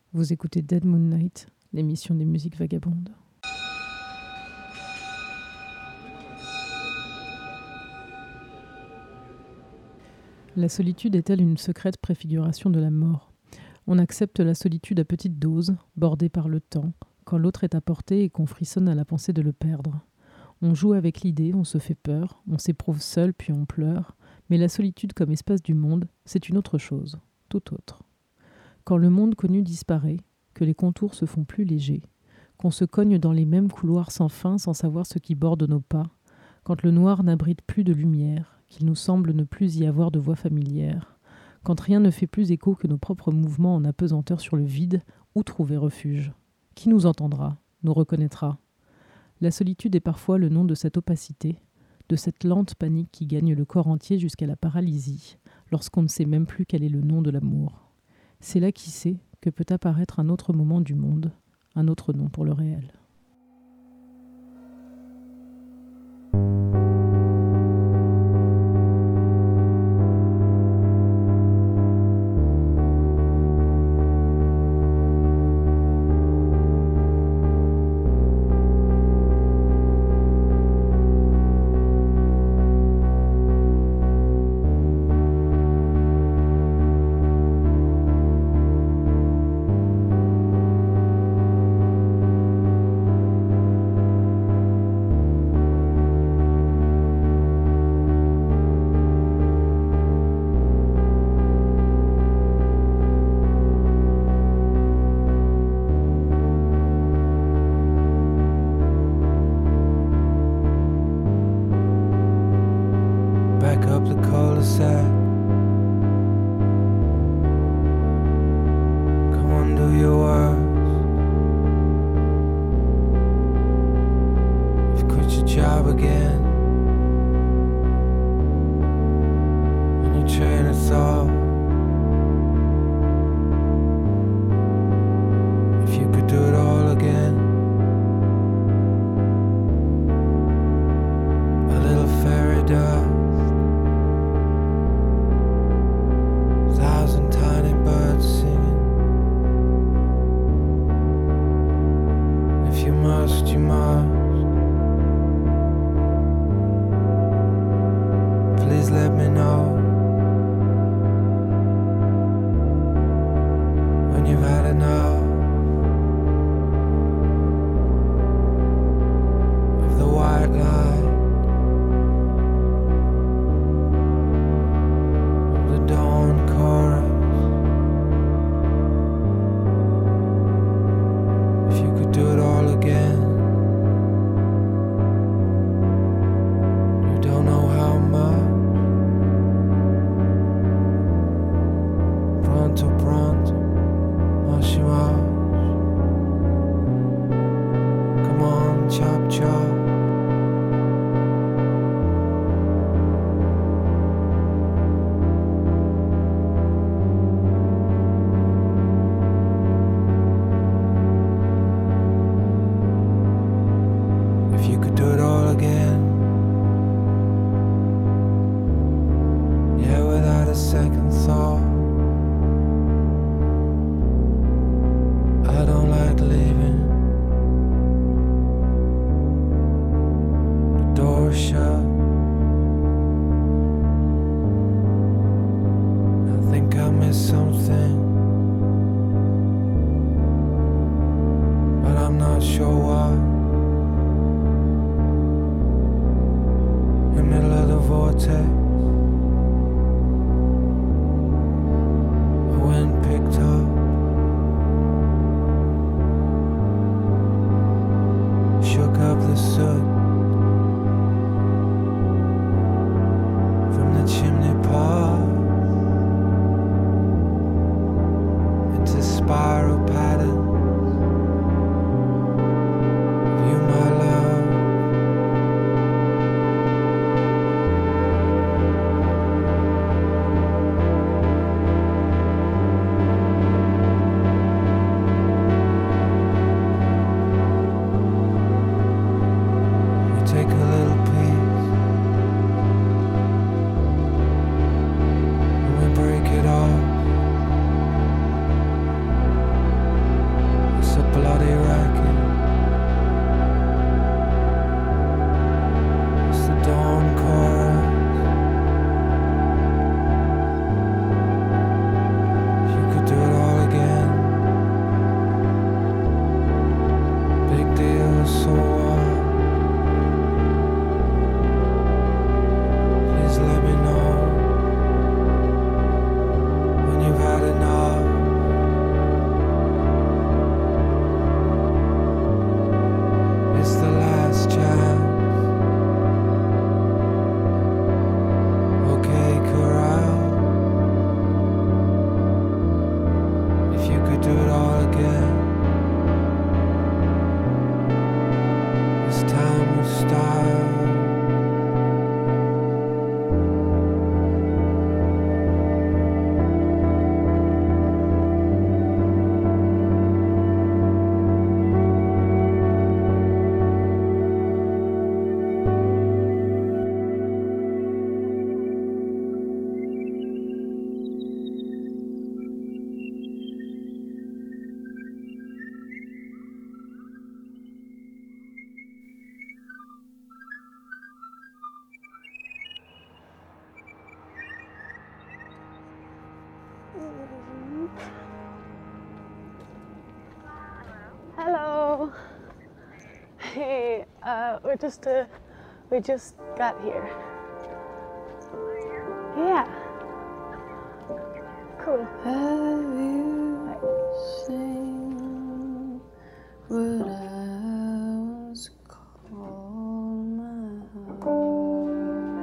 Vous écoutez Dead Moon Night, l'émission des musiques vagabondes. La solitude est-elle une secrète préfiguration de la mort ? On accepte la solitude à petite dose, bordée par le temps, quand l'autre est à portée et qu'on frissonne à la pensée de le perdre. On joue avec l'idée, on se fait peur, on s'éprouve seul puis on pleure, mais la solitude comme espace du monde, c'est une autre chose, tout autre. Quand le monde connu disparaît, que les contours se font plus légers, qu'on se cogne dans les mêmes couloirs sans fin sans savoir ce qui borde nos pas, quand le noir n'abrite plus de lumière, qu'il nous semble ne plus y avoir de voix familière, quand rien ne fait plus écho que nos propres mouvements en apesanteur sur le vide, où trouver refuge ? Qui nous entendra, nous reconnaîtra ? La solitude est parfois le nom de cette opacité, de cette lente panique qui gagne le corps entier jusqu'à la paralysie, lorsqu'on ne sait même plus quel est le nom de l'amour. C'est là, qui sait, que peut apparaître un autre moment du monde, un autre nom pour le réel. a bloody racket. It's the dawn chorus. You could do it all again. Big deal, so what? Please let me know when you've had enough. It's the last chance. Okay, corral. If you could do it all again, this time with style. Hello. Hey, we just got here. Yeah. Cool. Have you seen what I was called my heart?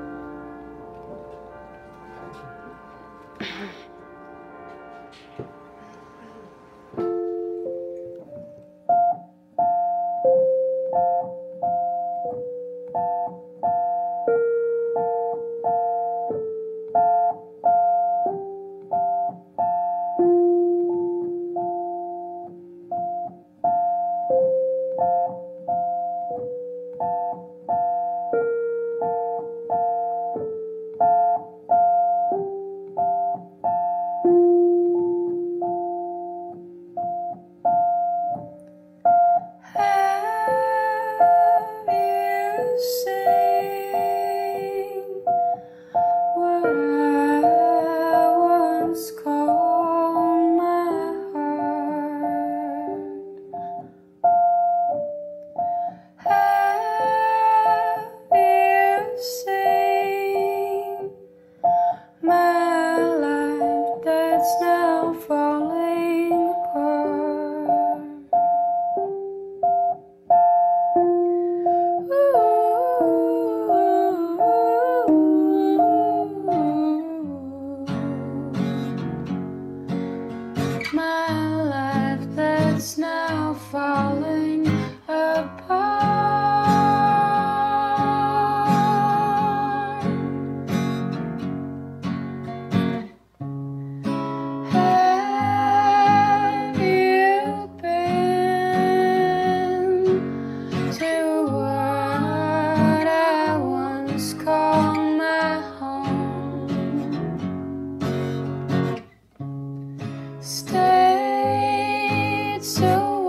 Have you seen what I once called my heart? Have you seen my life that's now falling apart? My life that's now falling apart. Have you been to what I once called my home? Stayed so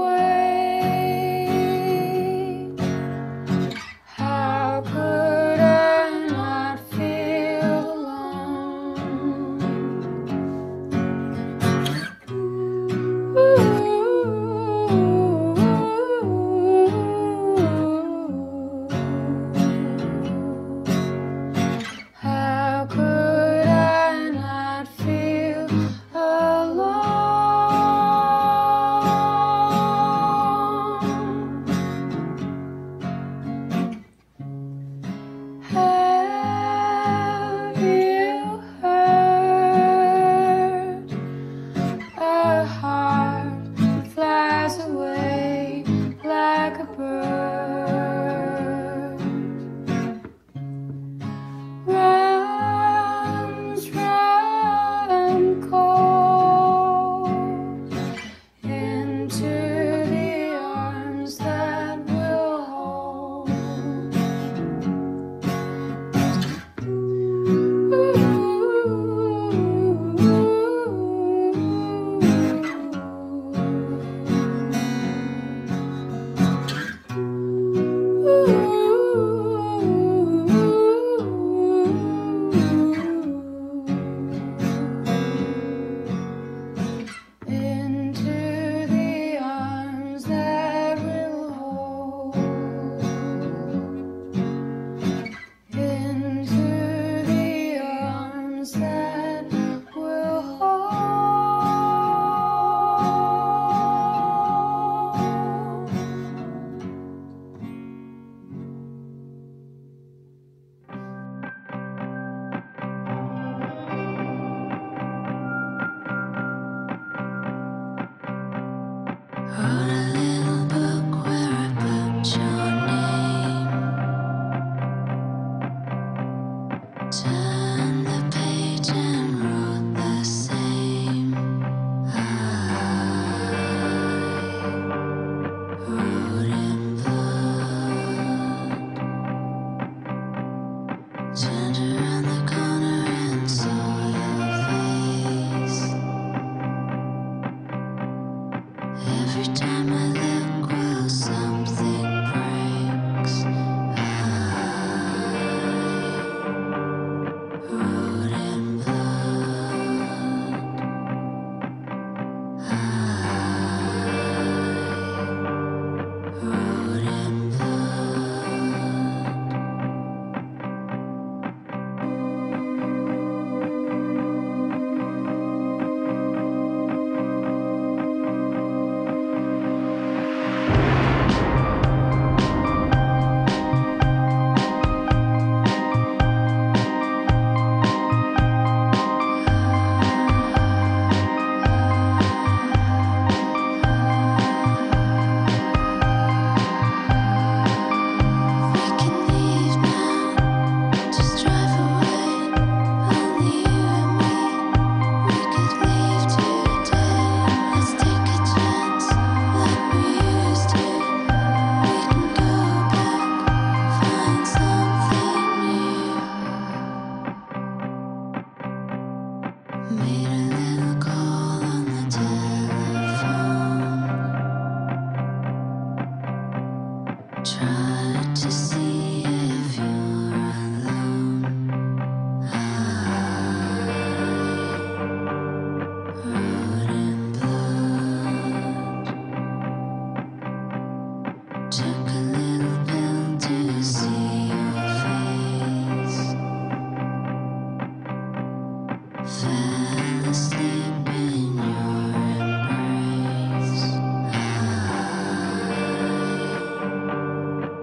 Wrote a little book where I put your name. Turned the page and wrote the same. I wrote in blood. Turned around the corner and saw your face. Every time I look, well, something breaks. I wrote in blood. I wrote in blood. We can leave now, just drive away. Only you and me. We could leave today. Let's take a chance, like we used to. We can go back, find something new. Made a little call on the telephone. Tried to see if you're alone. I wrote in blood. Took a little pill to see your face. Fell asleep in your embrace. I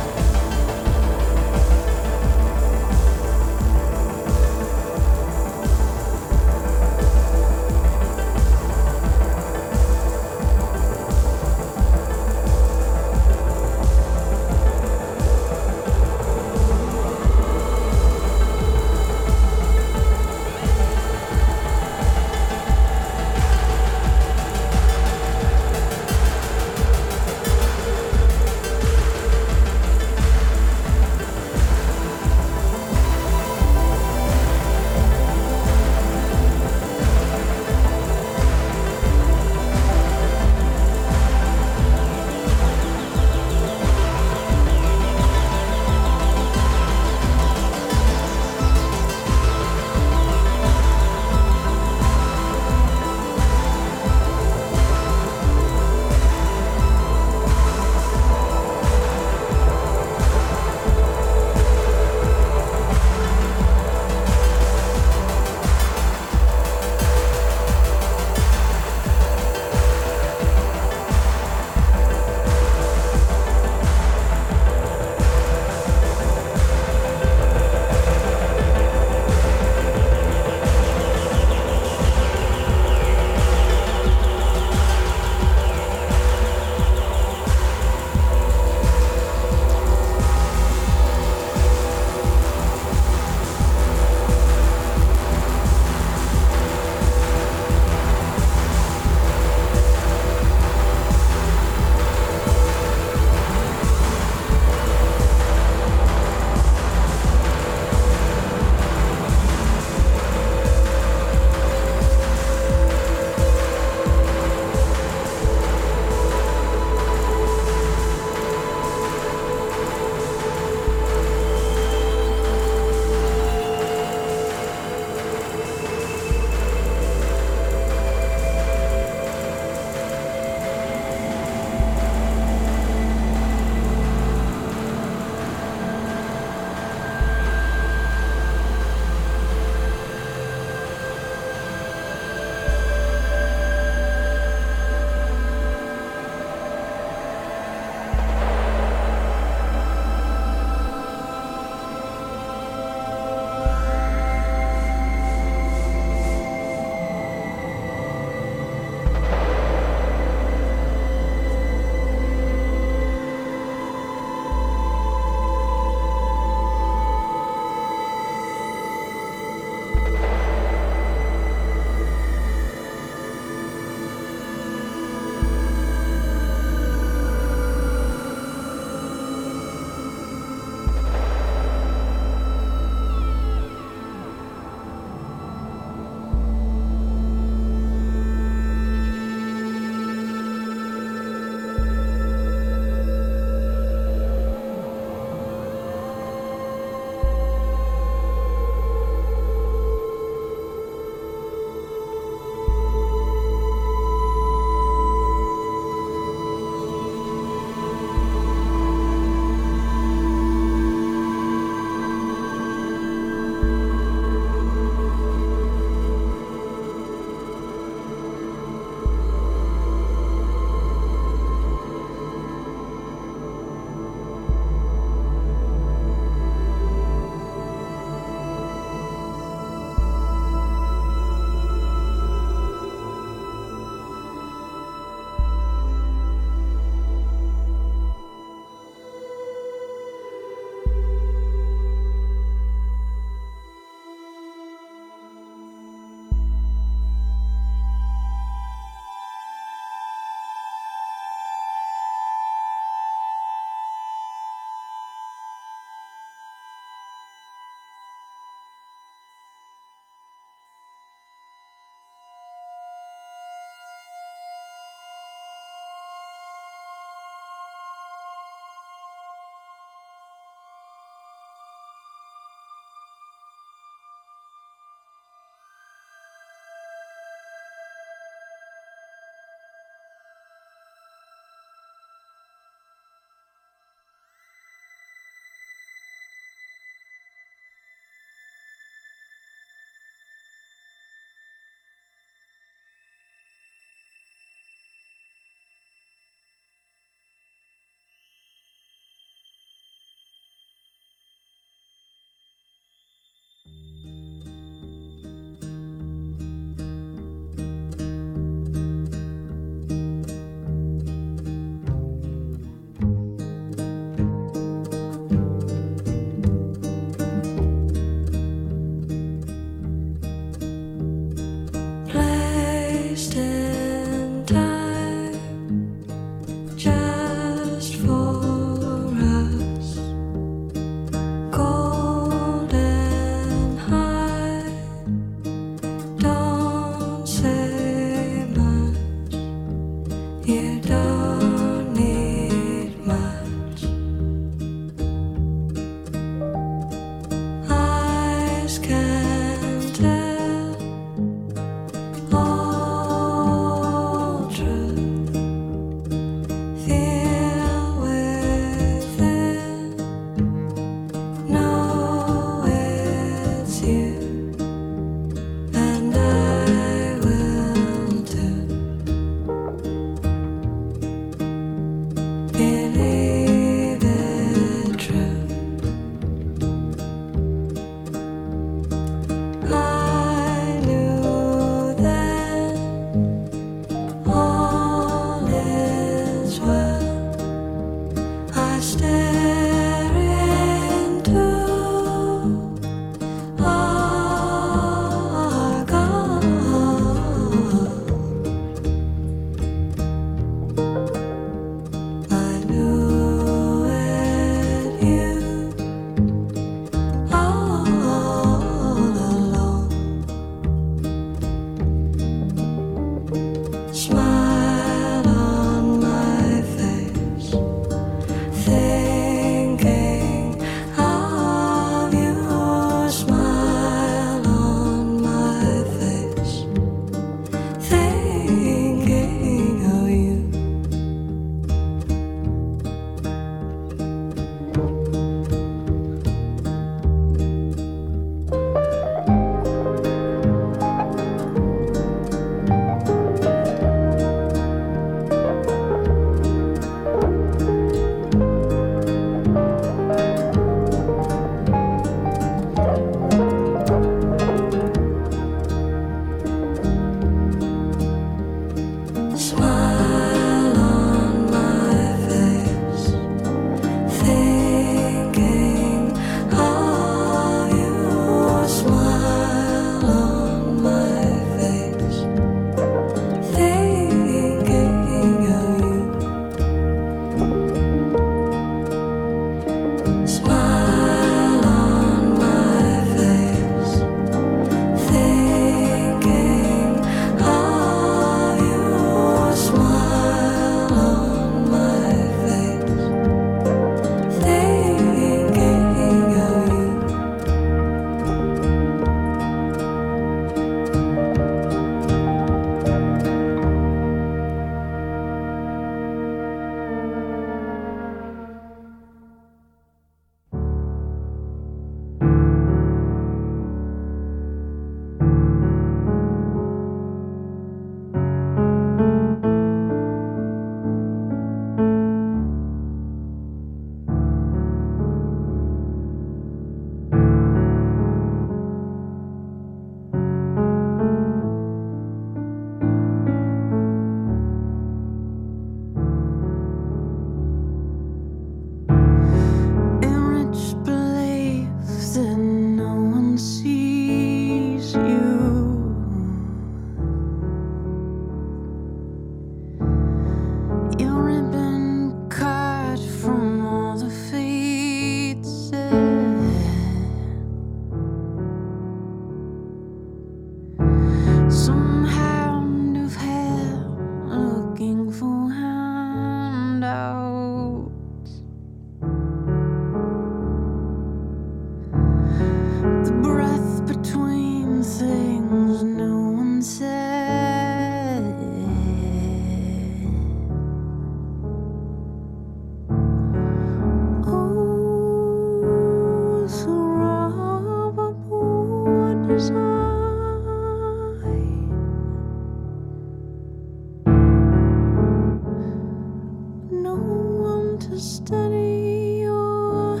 study your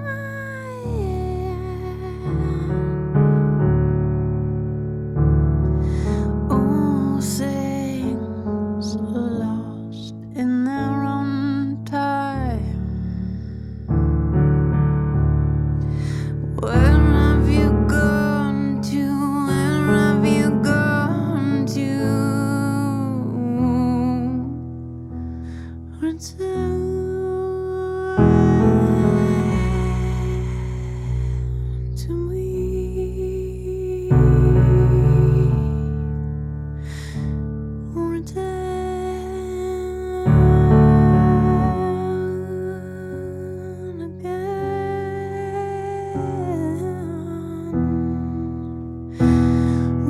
hand. All things lost in their own time. Where have you gone to? Where have you gone to? Return to me. Return again.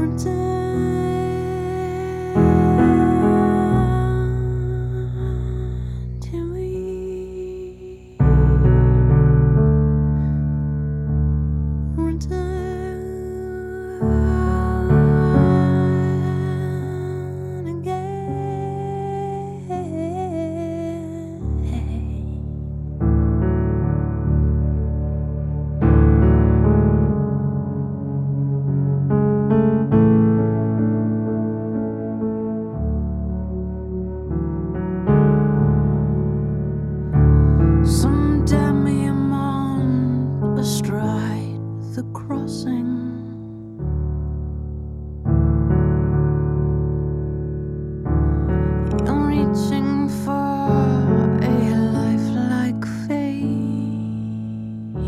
Return to me. Return again. Some dummy I'm on astride the crossing. I'm reaching for a lifelike fate.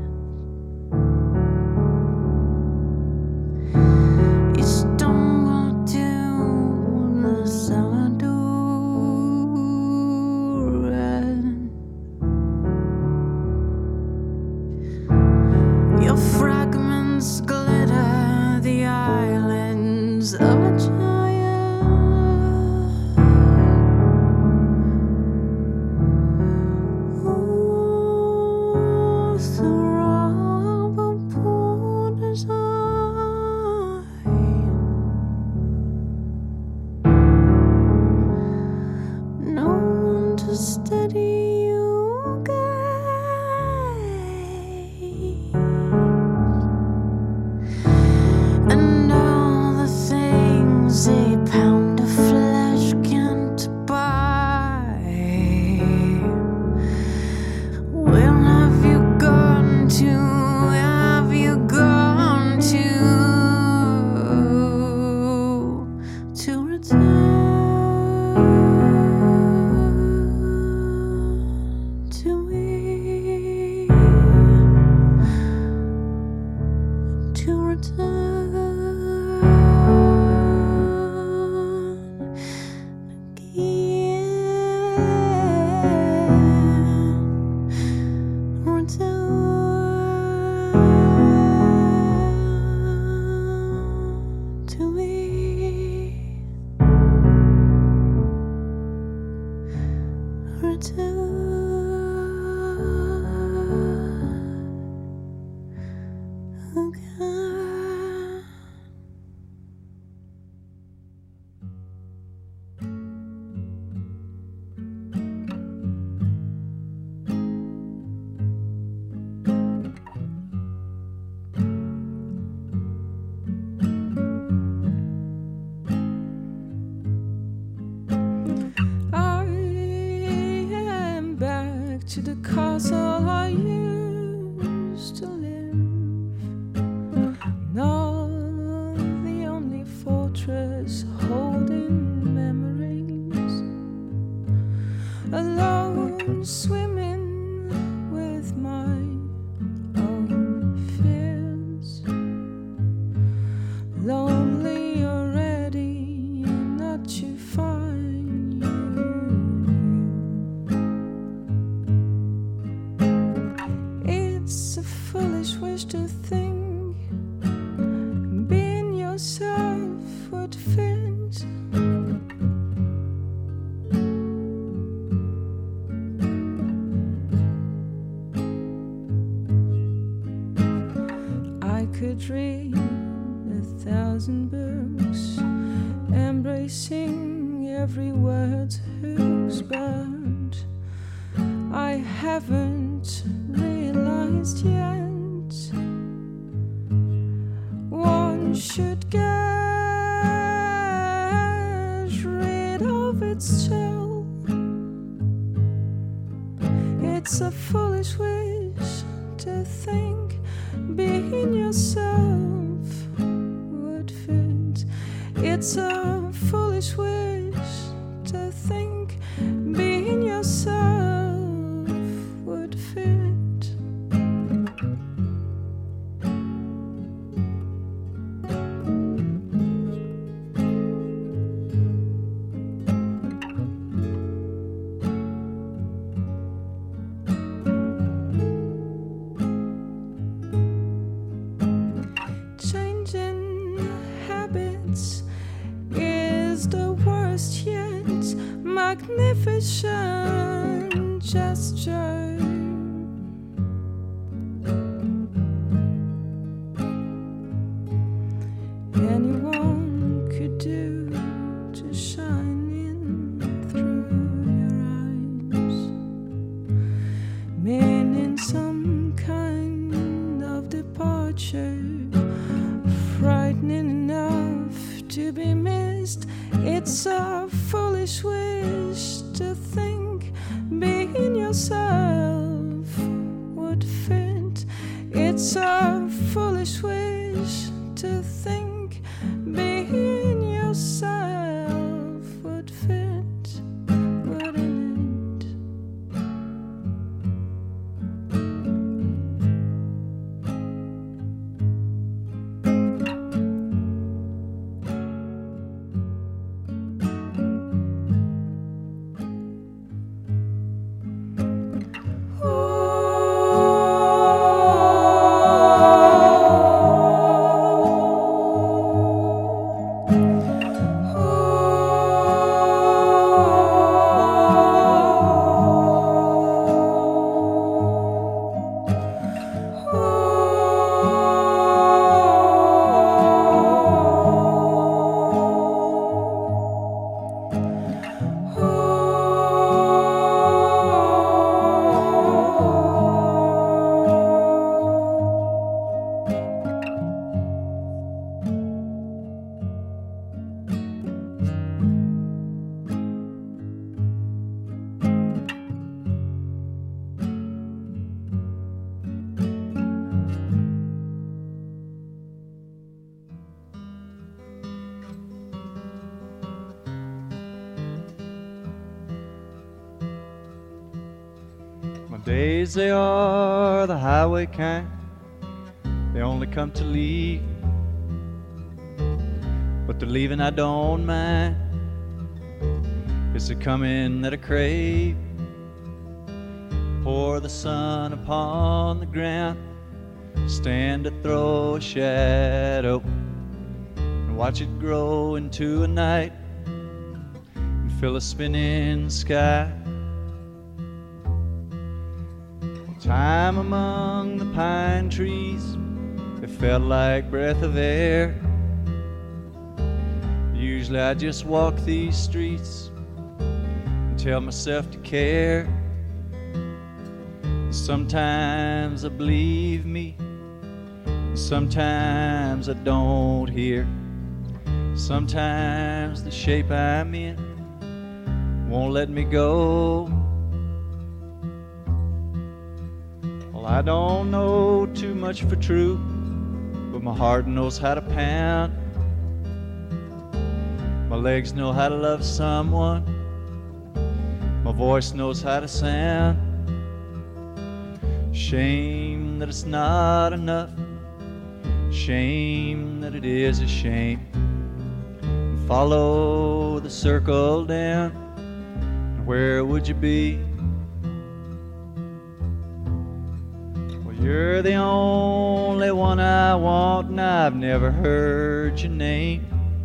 You stumble to the cellar door and your fragments glitter the islands of a giant. Ooh, through a poor design. No one to steady you, guys. And all the things a pound of flesh can't buy. Where have you gone to? Where have you gone to? To return to me. To return again. Return to me. Return again. I am back to the castle I used to live. Not the only fortress holding memories. Alone swimming with my own fears. Lonely already, not to find you. It's a foolish wish to think being yourself would fit. I could read 1,000 books, embracing every word's hooks, but I haven't realized yet. One should get rid of its shell. It's a foolish wish to think being yourself would fit. It's a foolish wish to think being yourself would fit. Changing habits is the worst yet. Magnificent gesture. Anyone could do to shine in through your eyes, meaning some kind of departure, frightening enough to be missed. It's a foolish wish to think being yourself would fit. It's a foolish wish to think being yourself would fit, wouldn't it? My days, they are the highway kind. They only come to leave, but the leaving I don't mind. It's the coming that I crave. Pour the sun upon the ground, stand to throw a shadow, and watch it grow into a night and fill a spinning sky. Time among the pine trees, it felt like breath of air. Usually I just walk these streets and tell myself to care. Sometimes I believe me, sometimes I don't hear. Sometimes the shape I'm in won't let me go. Well, I don't know too much for truth, but my heart knows how to pound. My legs know how to love someone, my voice knows how to sound. Shame that it's not enough, shame that it is a shame. Follow the circle down, where would you be? Well, you're the only one I want, and I've never heard your name.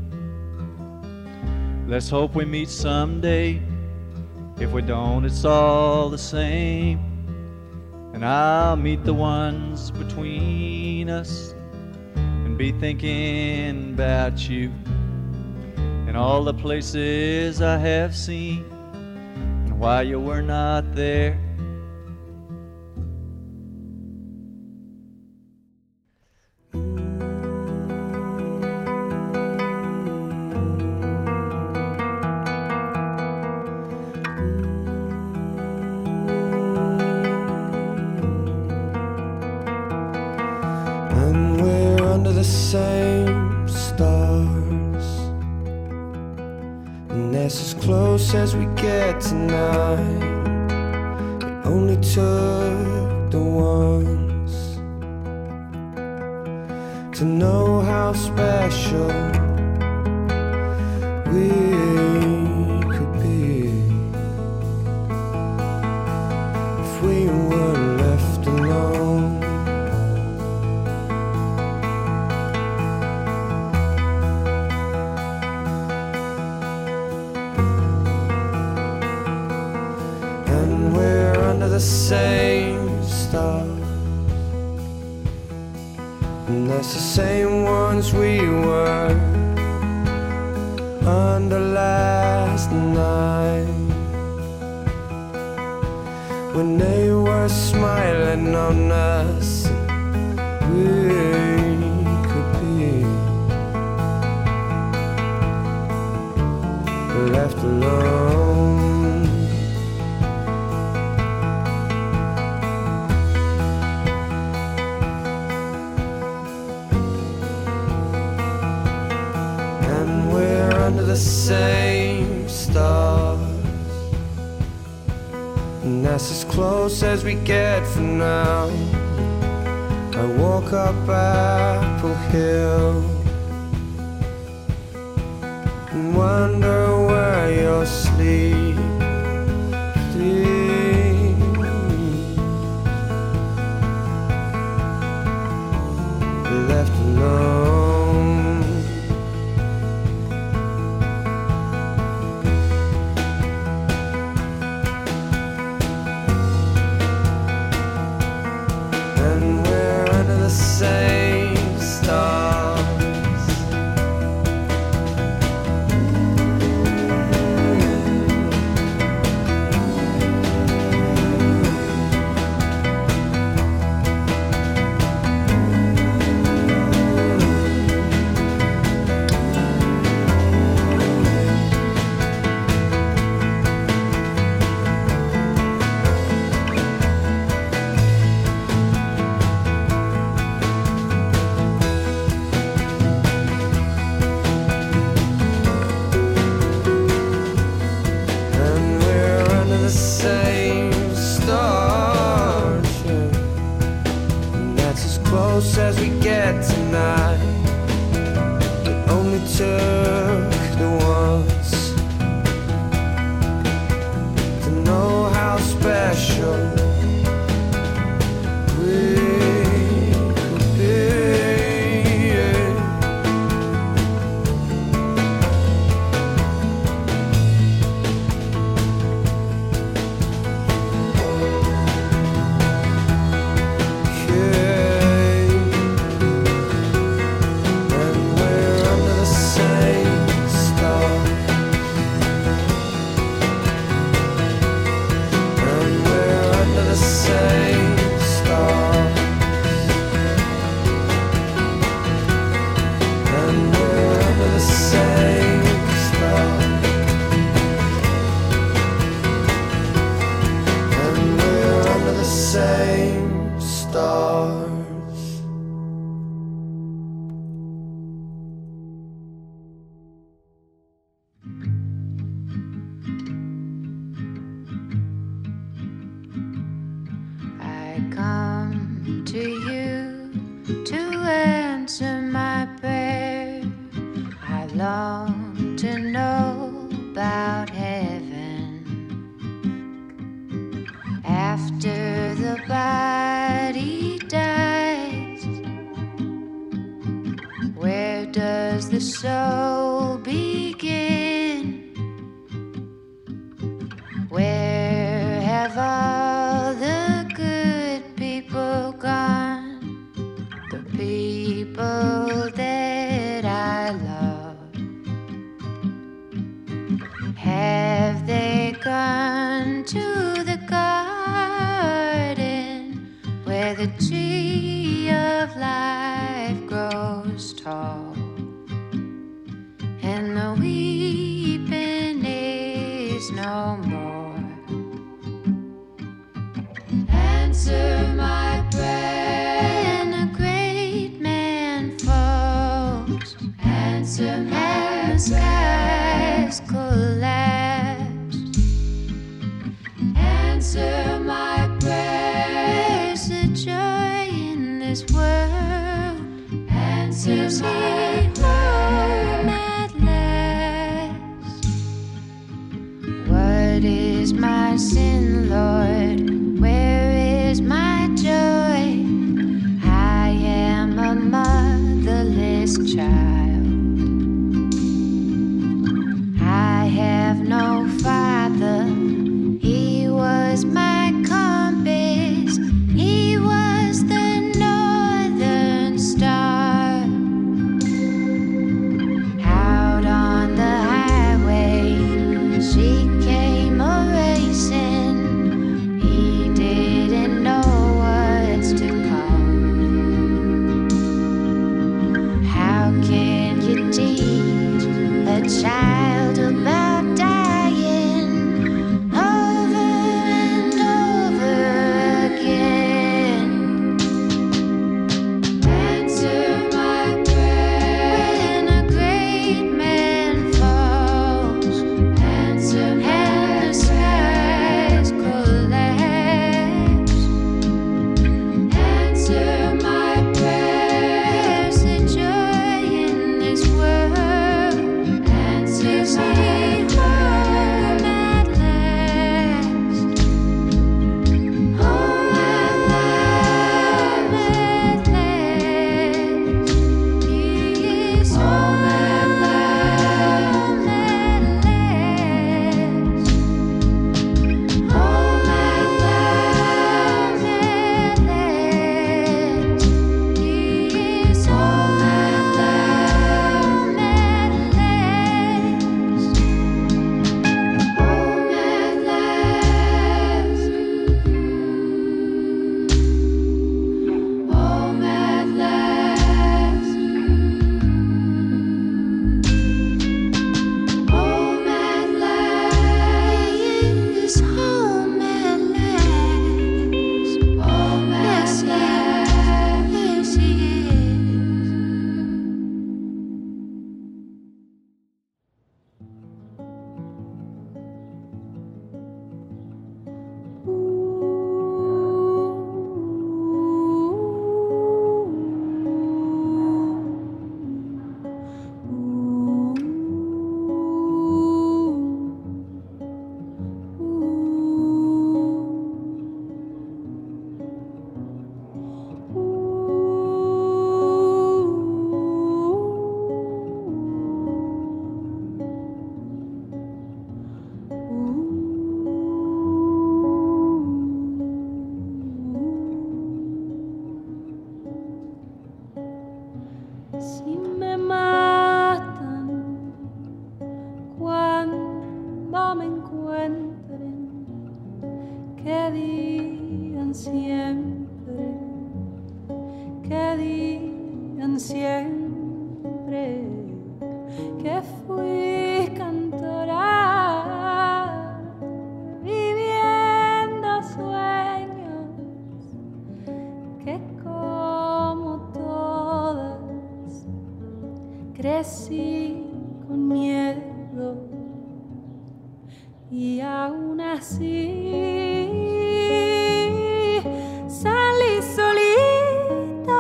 Let's hope we meet someday. If we don't, it's all the same. And I'll meet the ones between us and be thinking about you and all the places I have seen and why you were not there. And that's as close as we get tonight. It only took the once to know how special we could be if we were left alone. And we're under the same stars, and that's the same ones we were under last night, when they were smiling on us. We could be left alone. Under the same stars, and that's as close as we get for now. I walk up Apple Hill and wonder where you'll sleep. Left alone. Same stars, as we get tonight. It only took the once to know how special we could be. Same stars. I come to you to answer my prayer. I long to know about heaven. After the body dies, where does the soul begin? Where have all the good people gone? The people that I love. Have they gone to the garden where the tree of life grows tall, and the weeping is no more? Answer my prayer when a great man falls. Answer my prayer. And the skies collapse. What is my sin, Lord? Where is my joy? I am a motherless child. I have no father. He was my compass. He was the northern star. Out on the highway, she came a racing. He didn't know what's to come. How can you teach a child about dying over and over again? Answer my prayer when a great man falls. Answer and the skies collapse. Answer my prayers, the joy in this world. Answer me home at last. Home at last. He is home at last. Home at last. He is home at last. Home at last. Home at last. Home at last. He is home at last. Home at last. Yes, he is. Si me matan cuando me encuentren, que digan siempre, que fui cantora viviendo sueños, que como todas crecí con miedo y aún así salí solita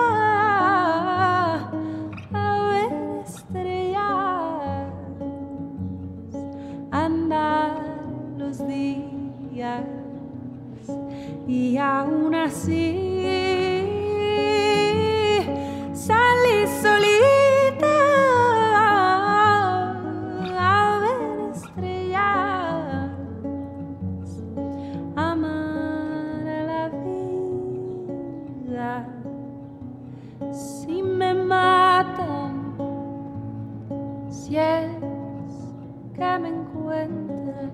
a ver estrellas, andar los días y aún así salí solita a ver estrellas, amar a la vida. Si me matan, si es que me encuentran,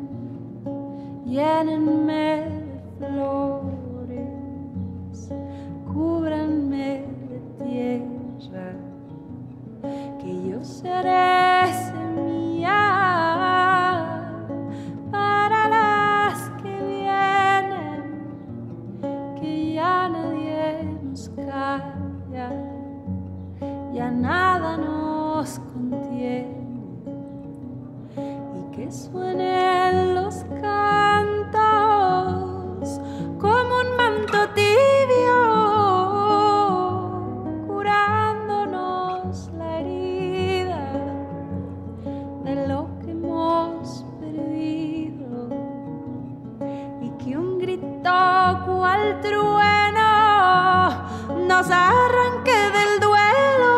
llénenme de flores, cúbranme de tierra, que yo seré semilla para las que vienen, que ya nadie nos calla, ya nada nos contiene, y que suenen los cantos como un manto tibio, curándonos la herida de lo que hemos perdido. al trueno nos arranque del duelo.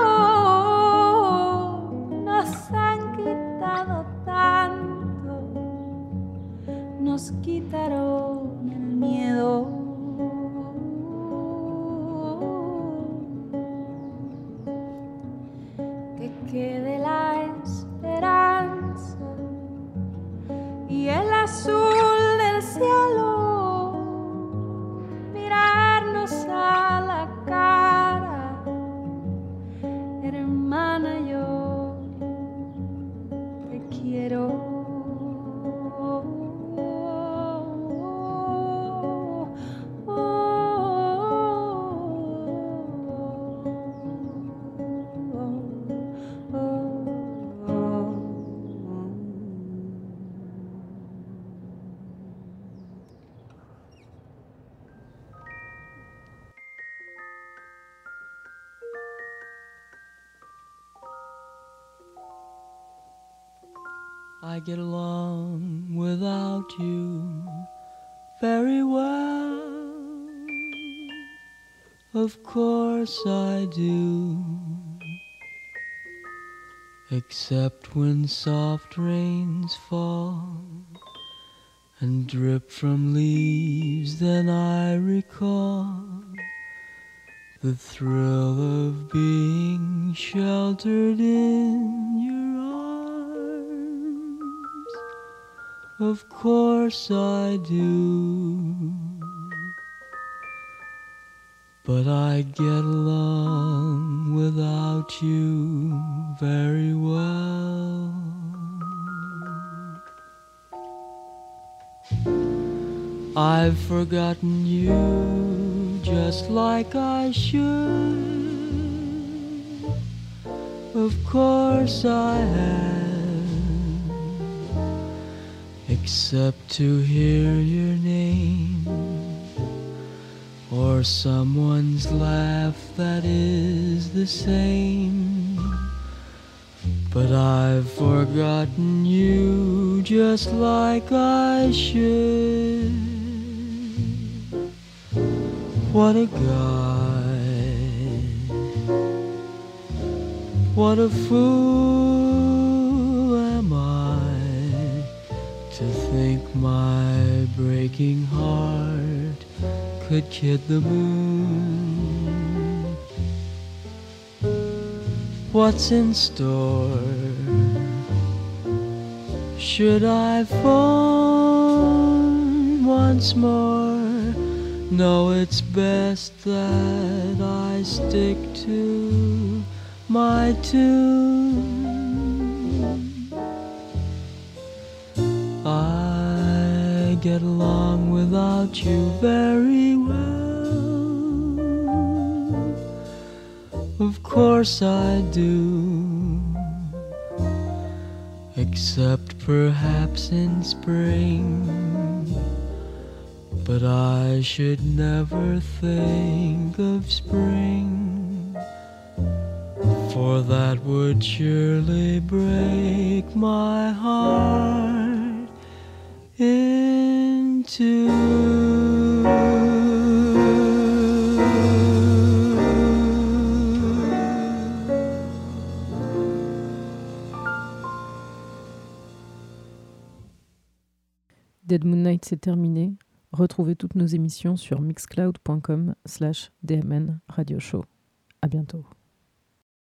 Nos han quitado tanto, nos quitaron el miedo. Que quede la esperanza y el azul del cielo, mirarnos a la cara, hermana, yo te quiero. I get along without you very well. Of course I do. Except when soft rains fall and drip from leaves, then I recall the thrill of being sheltered in your arms. Of course I do. But I get along without you very well. I've forgotten you just like I should. Of course I have, except to hear your name or someone's laugh that is the same. But I've forgotten you just like I should. What a guy, what a fool am I to think my breaking heart could kid the moon. What's in store? Should I phone once more? No, it's best that I stick to my tune. I get along without you very well. Of course I do. Except perhaps in spring. But I should never think of spring, for that would surely break my heart in two. Dead Moon Night, c'est terminé. Retrouvez toutes nos émissions sur mixcloud.com/DMN Radio Show. À bientôt.